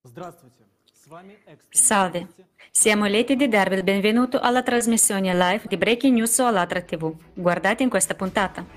Salve, siamo lieti di darvi il benvenuto alla trasmissione live di Breaking News su Allatra TV. Guardate in questa puntata.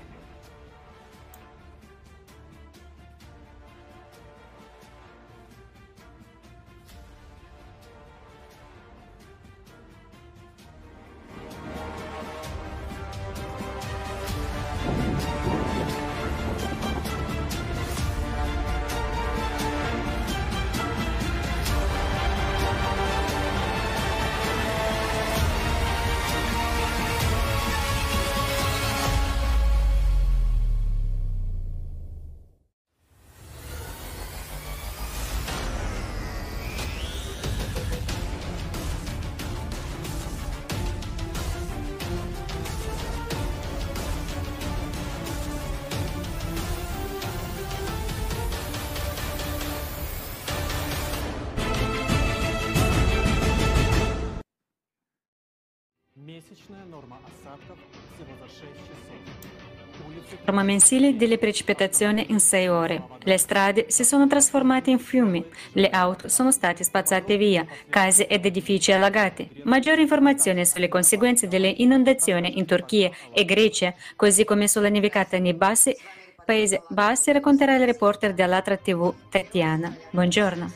Norma mensile delle precipitazioni in 6 ore. Le strade si sono trasformate in fiumi, le auto sono state spazzate via, case ed edifici allagati. Maggiori informazioni sulle conseguenze delle inondazioni in Turchia e Grecia, così come sulla nevicata nei Paesi Bassi, racconterà il reporter di Allatra TV Tatiana. Buongiorno.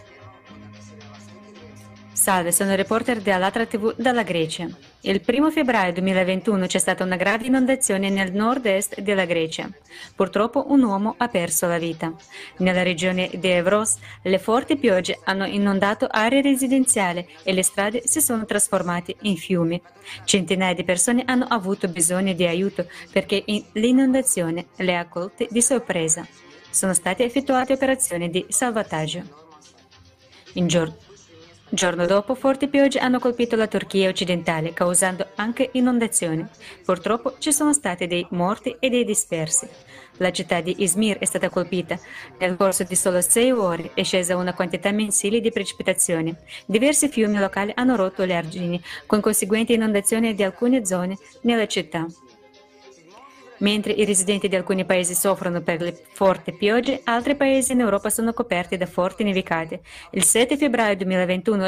Salve, sono il reporter di Allatra TV dalla Grecia. Il 1 febbraio 2021 c'è stata una grave inondazione nel nord-est della Grecia. Purtroppo un uomo ha perso la vita. Nella regione di Evros le forti piogge hanno inondato aree residenziali e le strade si sono trasformate in fiumi. Centinaia di persone hanno avuto bisogno di aiuto perché l'inondazione le ha colte di sorpresa. Sono state effettuate operazioni di salvataggio. Giorno dopo, forti piogge hanno colpito la Turchia occidentale, causando anche inondazioni. Purtroppo ci sono stati dei morti e dei dispersi. La città di Izmir è stata colpita. Nel corso di solo 6 ore è scesa una quantità mensile di precipitazioni. Diversi fiumi locali hanno rotto le argini, con conseguenti inondazioni di alcune zone nella città. Mentre i residenti di alcuni paesi soffrono per le forti piogge, altri paesi in Europa sono coperti da forti nevicate. Il 7 febbraio 2021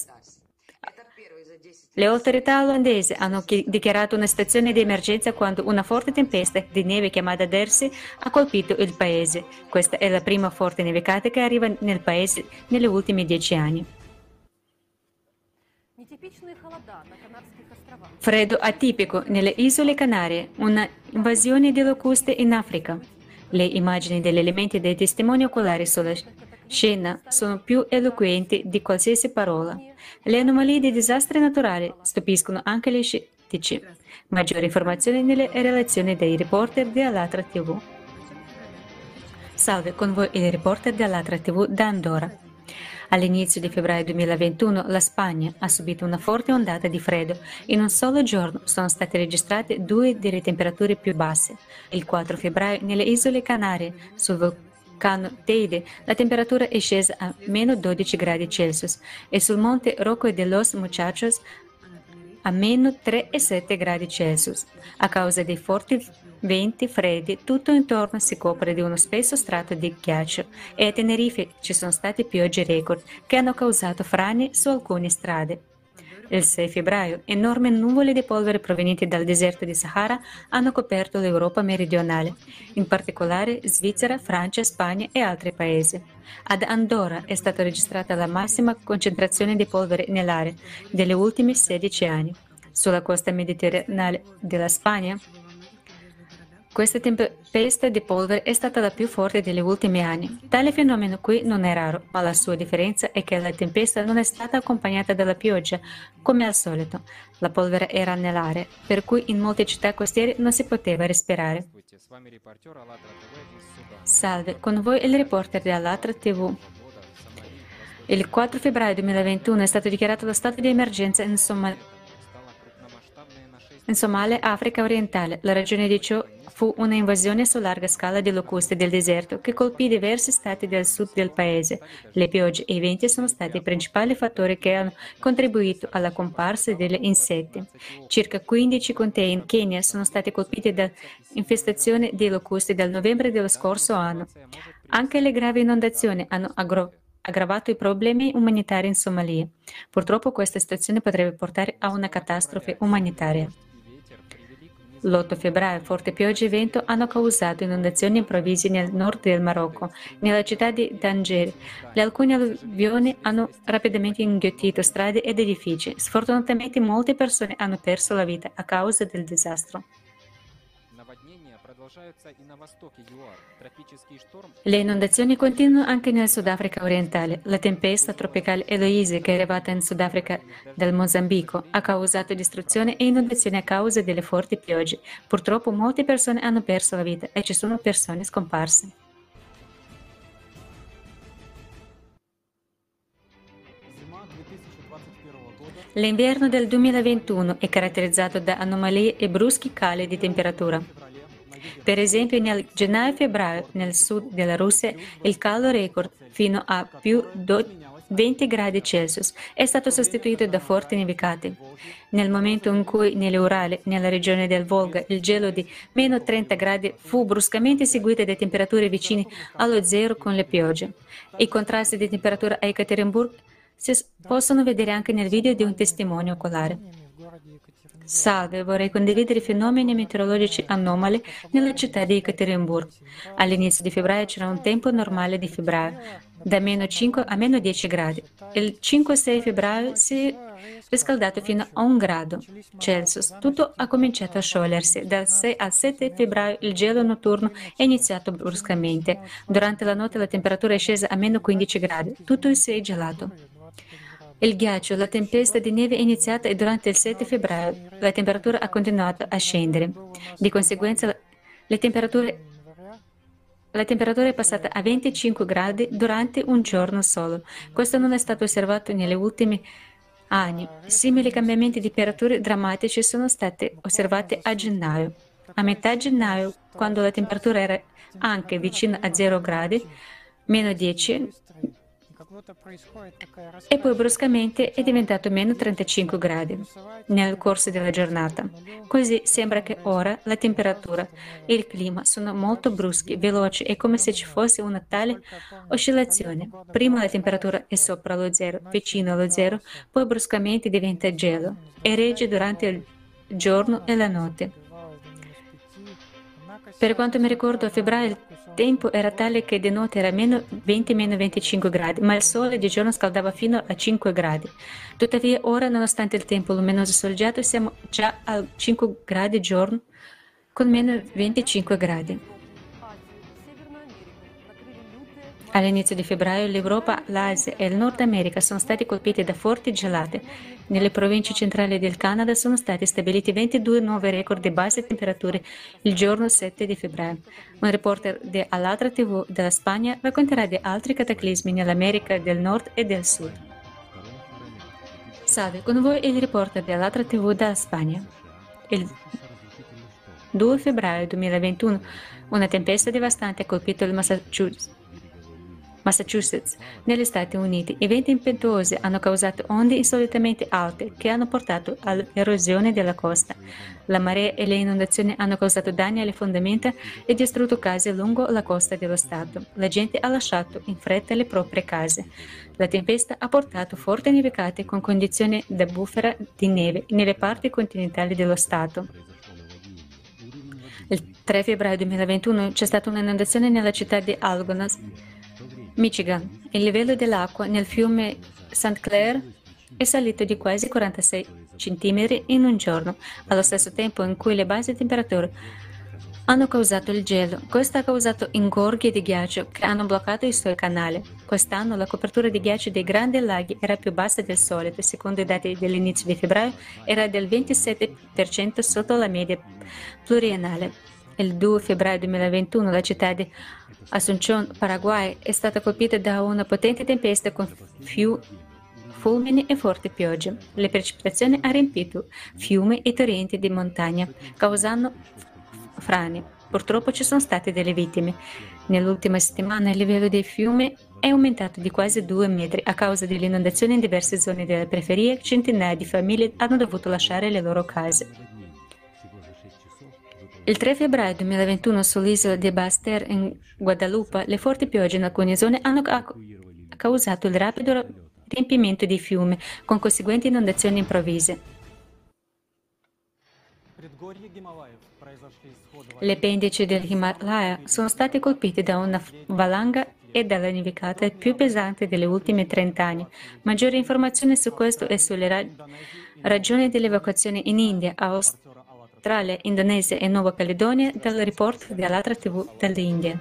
le autorità olandesi hanno dichiarato una situazione di emergenza quando una forte tempesta di neve chiamata Dersi ha colpito il paese. Questa è la prima forte nevicata che arriva nel paese negli ultimi 10 anni. Freddo atipico nelle isole Canarie, una invasione di locuste in Africa. Le immagini degli elementi dei testimoni oculari sulla scena sono più eloquenti di qualsiasi parola. Le anomalie di disastri naturali stupiscono anche gli scettici. Maggiori informazioni nelle relazioni dei reporter di Allatra TV. Salve, con voi il reporter di Allatra TV da Andorra. All'inizio di febbraio 2021 la Spagna ha subito una forte ondata di freddo. In un solo giorno sono state registrate 2 delle temperature più basse. Il 4 febbraio nelle isole Canarie, sul vulcano Teide, la temperatura è scesa a meno 12 gradi Celsius e sul monte Rocco de los Muchachos a meno 3,7 gradi Celsius. A causa dei forti venti freddi, tutto intorno si copre di uno spesso strato di ghiaccio e a Tenerife ci sono state piogge record che hanno causato frane su alcune strade. Il 6 febbraio, enormi nuvole di polvere provenienti dal deserto di Sahara hanno coperto l'Europa meridionale, in particolare Svizzera, Francia, Spagna e altri paesi. Ad Andorra è stata registrata la massima concentrazione di polvere nell'area degli ultimi 16 anni. Sulla costa meridionale della Spagna, questa tempesta di polvere è stata la più forte degli ultimi anni. Tale fenomeno qui non è raro, ma la sua differenza è che la tempesta non è stata accompagnata dalla pioggia, come al solito. La polvere era nell'aria, per cui in molte città costiere non si poteva respirare. Salve, con voi il reporter di Allatra TV. Il 4 febbraio 2021 è stato dichiarato lo stato di emergenza in Somalia, Africa orientale. La ragione di ciò fu una invasione su larga scala di locuste del deserto che colpì diversi stati del sud del paese. Le piogge e i venti sono stati i principali fattori che hanno contribuito alla comparsa degli insetti. Circa 15 contee in Kenya sono stati colpiti da infestazione di locuste dal novembre dello scorso anno. Anche le gravi inondazioni hanno aggravato i problemi umanitari in Somalia. Purtroppo questa situazione potrebbe portare a una catastrofe umanitaria. L'8 febbraio forti piogge e vento hanno causato inondazioni improvvise nel nord del Marocco, nella città di Tanger. Le alcune alluvioni hanno rapidamente inghiottito strade ed edifici. Sfortunatamente molte persone hanno perso la vita a causa del disastro. Le inondazioni continuano anche nel Sudafrica orientale. La tempesta tropicale Eloise, che è arrivata in Sudafrica dal Mozambico, ha causato distruzione e inondazioni a causa delle forti piogge. Purtroppo molte persone hanno perso la vita e ci sono persone scomparse. L'inverno del 2021 è caratterizzato da anomalie e bruschi cali di temperatura. Per esempio, nel gennaio-febbraio nel sud della Russia il caldo record fino a più 20 gradi Celsius è stato sostituito da forti nevicate. Nel momento in cui nell'Urale, nella regione del Volga, il gelo di meno 30 gradi fu bruscamente seguito da temperature vicine allo zero con le piogge. I contrasti di temperatura a Ekaterinburg si possono vedere anche nel video di un testimone oculare. Salve, vorrei condividere i fenomeni meteorologici anomali nella città di Ekaterinburg. All'inizio di febbraio c'era un tempo normale di febbraio, da meno 5 a meno 10 gradi. Il 5-6 febbraio si è riscaldato fino a 1 grado Celsius. Tutto ha cominciato a sciogliersi. Dal 6 al 7 febbraio il gelo notturno è iniziato bruscamente. Durante la notte la temperatura è scesa a meno 15 gradi. Tutto si è gelato. Il ghiaccio, la tempesta di neve è iniziata e durante il 7 febbraio la temperatura ha continuato a scendere. Di conseguenza la temperatura è passata a 25 gradi durante un giorno solo. Questo non è stato osservato negli ultimi anni. Simili cambiamenti di temperature drammatici sono stati osservati a gennaio. A metà gennaio, quando la temperatura era anche vicina a 0 gradi, meno 10, e poi bruscamente è diventato meno 35 gradi nel corso della giornata. Così sembra che ora la temperatura e il clima sono molto bruschi, veloci, è come se ci fosse una tale oscillazione. Prima la temperatura è sopra lo zero, vicino allo zero, poi bruscamente diventa gelo e regge durante il giorno e la notte. Per quanto mi ricordo, a febbraio il tempo era tale che di notte era meno 20-25 gradi, ma il sole di giorno scaldava fino a 5 gradi. Tuttavia, ora, nonostante il tempo luminoso e soleggiato, siamo già a 5 gradi giorno con meno 25 gradi. All'inizio di febbraio l'Europa, l'Asia e il Nord America sono stati colpiti da forti gelate. Nelle province centrali del Canada sono stati stabiliti 22 nuovi record di basse temperature il giorno 7 di febbraio. Un reporter di Alatra TV della Spagna racconterà di altri cataclismi nell'America del Nord e del Sud. Salve, con voi il reporter di Alatra TV dalla Spagna. Il 2 febbraio 2021 una tempesta devastante ha colpito il Massachusetts, negli Stati Uniti. I venti impetuosi hanno causato onde insolitamente alte che hanno portato all'erosione della costa. La marea e le inondazioni hanno causato danni alle fondamenta e distrutto case lungo la costa dello Stato. La gente ha lasciato in fretta le proprie case. La tempesta ha portato forti nevicate con condizioni da bufera di neve nelle parti continentali dello Stato. Il 3 febbraio 2021 c'è stata un'inondazione nella città di Algonac, Michigan. Il livello dell'acqua nel fiume St. Clair è salito di quasi 46 cm in un giorno, allo stesso tempo in cui le basse temperature hanno causato il gelo. Questo ha causato ingorghi di ghiaccio che hanno bloccato i suoi canali. Quest'anno la copertura di ghiaccio dei grandi laghi era più bassa del solito. Secondo i dati dell'inizio di febbraio era del 27% sotto la media pluriennale. Il 2 febbraio 2021 la città di Asunción, Paraguay, è stata colpita da una potente tempesta con fulmini e forti piogge. Le precipitazioni hanno riempito fiumi e torrenti di montagna, causando frane. Purtroppo ci sono state delle vittime. Nell'ultima settimana il livello dei fiumi è aumentato di quasi 2 metri a causa delle inondazioni in diverse zone della periferia. Centinaia di famiglie hanno dovuto lasciare le loro case. Il 3 febbraio 2021 sull'isola di Basse-Terre in Guadalupe le forti piogge in alcune zone hanno causato il rapido riempimento dei fiumi, con conseguenti inondazioni improvvise. Le pendici dell'Himalaya sono state colpite da una valanga e dalla nevicata più pesante delle ultime 30 anni. Maggiori informazioni su questo e sulle ragioni dell'evacuazione in India, Australia, Indonesia e Nuova Caledonia dal report di Alatra TV dall'India.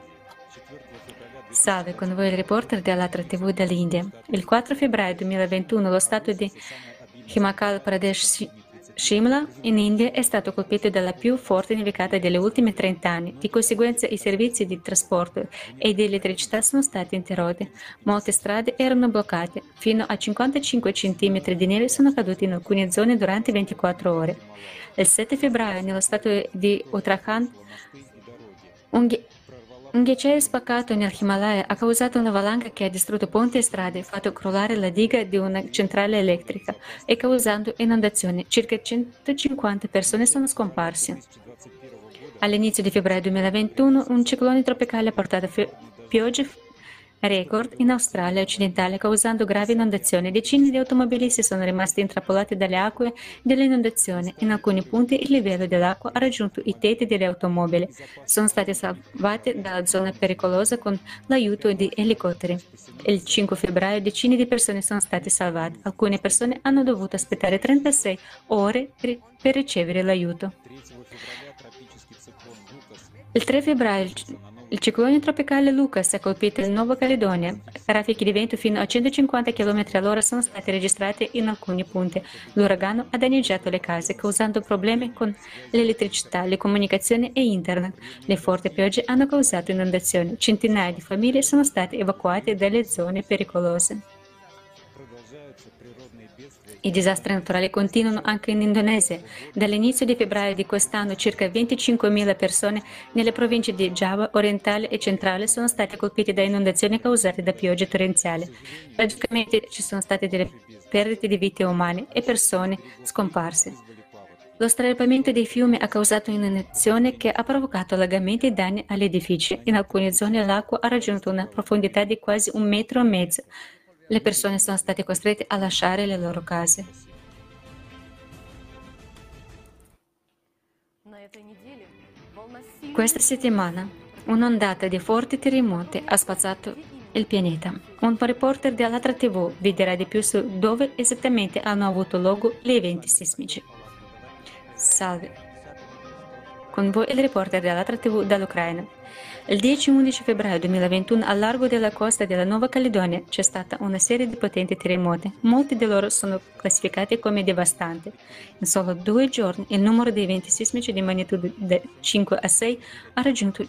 Salve, con voi il reporter di Alatra TV dall'India. Il 4 febbraio 2021 lo stato di Himachal Pradesh Shimla in India è stato colpito dalla più forte nevicata delle ultime 30 anni. Di conseguenza i servizi di trasporto e di elettricità sono stati interrotti. Molte strade erano bloccate. Fino a 55 cm di neve sono caduti in alcune zone durante 24 ore. Il 7 febbraio nello stato di Uttarakhand un ghiacciaio spaccato nell'Himalaya ha causato una valanga che ha distrutto ponti e strade, fatto crollare la diga di una centrale elettrica e causando inondazioni. Circa 150 persone sono scomparse. All'inizio di febbraio 2021 un ciclone tropicale ha portato piogge record in Australia occidentale, causando gravi inondazioni. Decine di automobilisti sono rimasti intrappolati dalle acque delle inondazioni. In alcuni punti il livello dell'acqua ha raggiunto i tetti delle automobili. Sono stati salvati dalla zona pericolosa con l'aiuto di elicotteri. Il 5 febbraio decine di persone sono state salvate. Alcune persone hanno dovuto aspettare 36 ore per ricevere l'aiuto. Il 3 febbraio il ciclone tropicale Lucas ha colpito la Nuova Caledonia. Raffiche di vento fino a 150 km all'ora sono state registrate in alcuni punti. L'uragano ha danneggiato le case, causando problemi con l'elettricità, le comunicazioni e internet. Le forti piogge hanno causato inondazioni. Centinaia di famiglie sono state evacuate dalle zone pericolose. I disastri naturali continuano anche in Indonesia. Dall'inizio di febbraio di quest'anno circa 25.000 persone nelle province di Giava orientale e centrale sono state colpite da inondazioni causate da piogge torrenziali. Tragicamente ci sono state delle perdite di vite umane e persone scomparse. Lo straripamento dei fiumi ha causato un'inondazione che ha provocato allagamenti e danni agli edifici. In alcune zone l'acqua ha raggiunto una profondità di quasi 1,5 metri. Le persone sono state costrette a lasciare le loro case. Questa settimana un'ondata di forti terremoti ha spazzato il pianeta. Un reporter di Alatra TV vi dirà di più su dove esattamente hanno avuto luogo gli eventi sismici. Salve. Con voi il reporter di Alatra TV dall'Ucraina. Il 10-11 febbraio 2021 al largo della costa della Nuova Caledonia c'è stata una serie di potenti terremoti. Molti di loro sono classificati come devastanti. In solo 2 giorni il numero di eventi sismici di magnitudo 5 a 6 ha raggiunto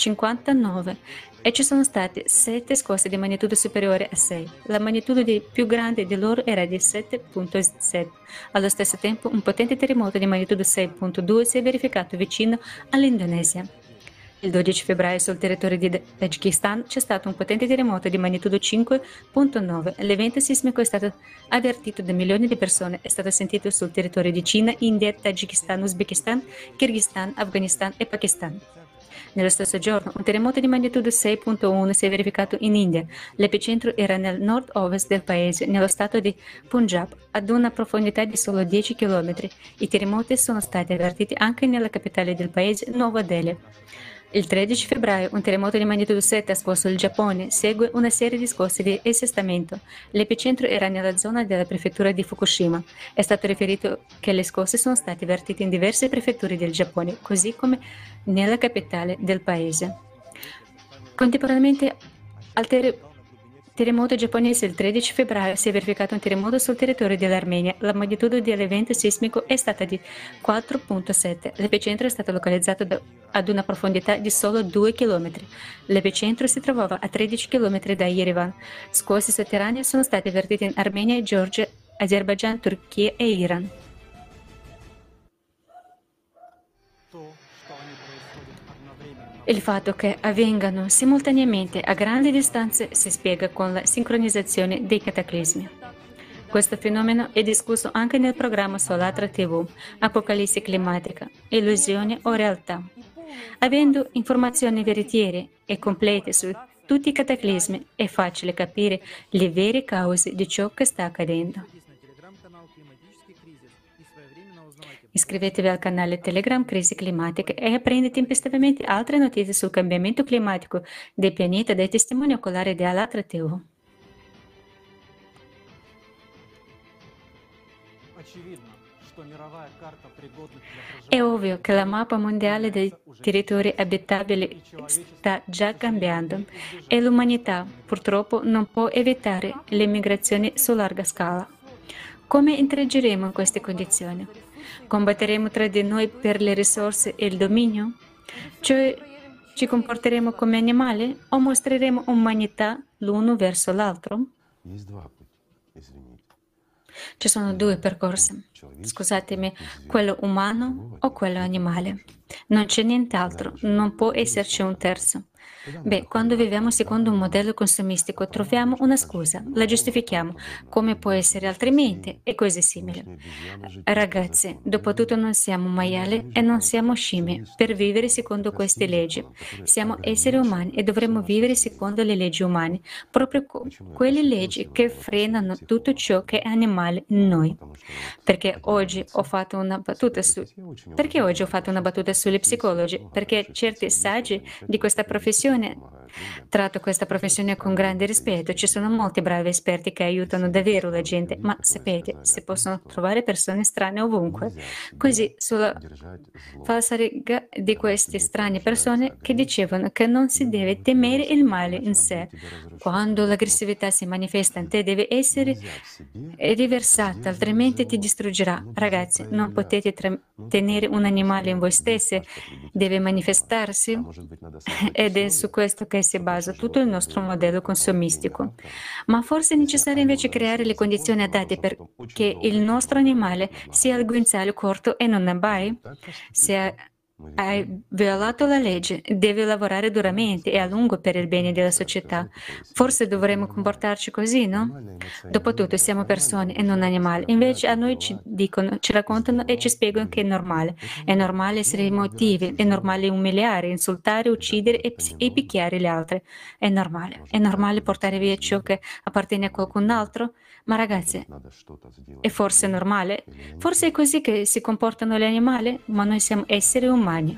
59 e ci sono state 7 scosse di magnitudo superiore a 6. La magnitudo più grande di loro era di 7,7. Allo stesso tempo un potente terremoto di magnitudo 6,2 si è verificato vicino all'Indonesia. Il 12 febbraio sul territorio di Tagikistan c'è stato un potente terremoto di magnitudo 5,9. L'evento sismico è stato avvertito da milioni di persone, è stato sentito sul territorio di Cina, India, Tagikistan, Uzbekistan, Kirghizistan, Afghanistan e Pakistan. Nello stesso giorno, un terremoto di magnitudo 6,1 si è verificato in India. L'epicentro era nel nord-ovest del paese, nello stato di Punjab, ad una profondità di solo 10 km. I terremoti sono stati avvertiti anche nella capitale del paese, Nuova Delhi. Il 13 febbraio un terremoto di magnitudo 7 ha scosso il Giappone, segue una serie di scosse di assestamento. L'epicentro era nella zona della prefettura di Fukushima. È stato riferito che le scosse sono state avvertite in diverse prefetture del Giappone, così come nella capitale del paese. Contemporaneamente al terremoto giapponese il 13 febbraio si è verificato un terremoto sul territorio dell'Armenia. La magnitudo dell'evento sismico è stata di 4,7. L'epicentro è stato localizzato ad una profondità di solo 2 km. L'epicentro si trovava a 13 km da Yerevan. Scosse sotterranee sono state avvertite in Armenia, Georgia, Azerbaijan, Turchia e Iran. Il fatto che avvengano simultaneamente a grandi distanze si spiega con la sincronizzazione dei cataclismi. Questo fenomeno è discusso anche nel programma su Alatra TV, Apocalissi climatica, illusione o realtà. Avendo informazioni veritiere e complete su tutti i cataclismi, è facile capire le vere cause di ciò che sta accadendo. Iscrivetevi al canale Telegram Crisi Climatica e apprendi tempestivamente altre notizie sul cambiamento climatico del pianeta dai testimoni oculari di Allatra TV. È ovvio che la mappa mondiale dei territori abitabili sta già cambiando e l'umanità purtroppo non può evitare le migrazioni su larga scala. Come interageremo in queste condizioni? Combatteremo tra di noi per le risorse e il dominio? Cioè ci comporteremo come animali o mostreremo umanità l'uno verso l'altro? Ci sono due percorsi, scusatemi, quello umano o quello animale. Non c'è nient'altro, non può esserci un terzo. Quando viviamo secondo un modello consumistico troviamo una scusa, la giustifichiamo, come può essere altrimenti e cose simili. Ragazzi, dopotutto non siamo maiali e non siamo scimmie per vivere secondo queste leggi. Siamo esseri umani e dovremmo vivere secondo le leggi umane, proprio quelle leggi che frenano tutto ciò che è animale in noi. Perché oggi ho fatto una battuta sulle psicologi? Perché certi saggi di questa professione tratto questa professione con grande rispetto. Ci sono molti bravi esperti che aiutano davvero la gente, ma sapete, si possono trovare persone strane ovunque. Così, sulla falsariga di queste strane persone che dicevano che non si deve temere il male in sé. Quando l'aggressività si manifesta in te deve essere riversata, altrimenti ti distruggerà. Ragazzi, non potete tenere un animale in voi stessi, deve manifestarsi ed è su questo che si basa tutto il nostro modello consumistico. Ma forse è necessario invece creare le condizioni adatte perché il nostro animale sia al guinzaglio corto e non abbai? Se hai violato la legge, devi lavorare duramente e a lungo per il bene della società. Forse dovremmo comportarci così, no? Dopotutto siamo persone e non animali. Invece a noi ci dicono, ci raccontano e ci spiegano che è normale. È normale essere emotivi, è normale umiliare, insultare, uccidere e picchiare gli altri. È normale. È normale portare via ciò che appartiene a qualcun altro? Ma ragazzi, è forse normale? Forse è così che si comportano gli animali, ma noi siamo esseri umani.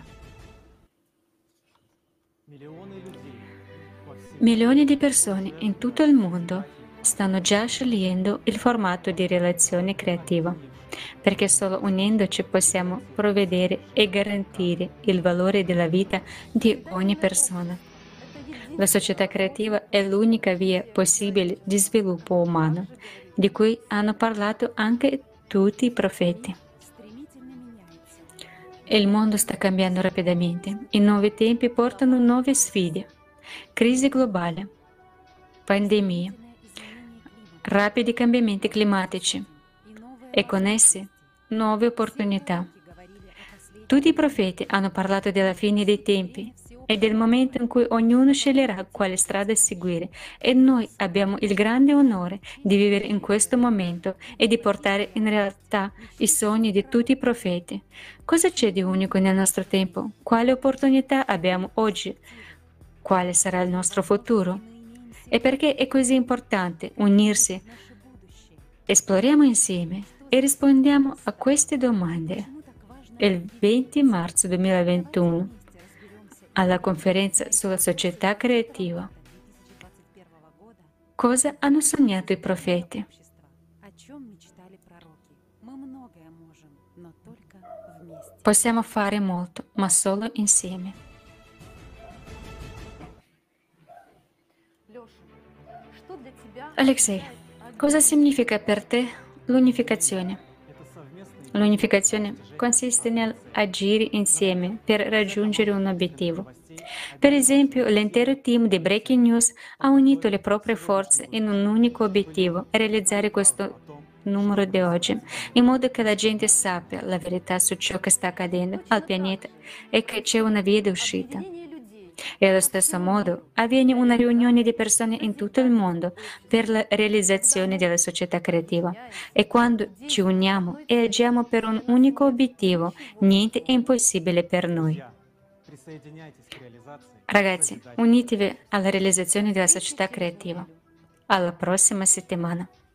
Milioni di persone in tutto il mondo stanno già scegliendo il formato di relazione creativa, perché solo unendoci possiamo provvedere e garantire il valore della vita di ogni persona. La società creativa è l'unica via possibile di sviluppo umano, di cui hanno parlato anche tutti i profeti. Il mondo sta cambiando rapidamente. I nuovi tempi portano nuove sfide. Crisi globale, pandemie, rapidi cambiamenti climatici e con essi nuove opportunità. Tutti i profeti hanno parlato della fine dei tempi e del momento in cui ognuno sceglierà quale strada seguire e noi abbiamo il grande onore di vivere in questo momento e di portare in realtà i sogni di tutti i profeti. Cosa c'è di unico nel nostro tempo? Quale opportunità abbiamo oggi? Quale sarà il nostro futuro? E perché è così importante unirsi? Esploriamo insieme e rispondiamo a queste domande. Il 20 marzo 2021 alla conferenza sulla società creativa. Cosa hanno sognato i profeti? Possiamo fare molto, ma solo insieme. Alexei, cosa significa per te l'unificazione? L'unificazione consiste nell'agire insieme per raggiungere un obiettivo. Per esempio, l'intero team di Breaking News ha unito le proprie forze in un unico obiettivo, realizzare questo numero di oggi, in modo che la gente sappia la verità su ciò che sta accadendo al pianeta e che c'è una via di uscita. E allo stesso modo avviene una riunione di persone in tutto il mondo per la realizzazione della società creativa. E quando ci uniamo e agiamo per un unico obiettivo, niente è impossibile per noi. Ragazzi, unitevi alla realizzazione della società creativa. Alla prossima settimana!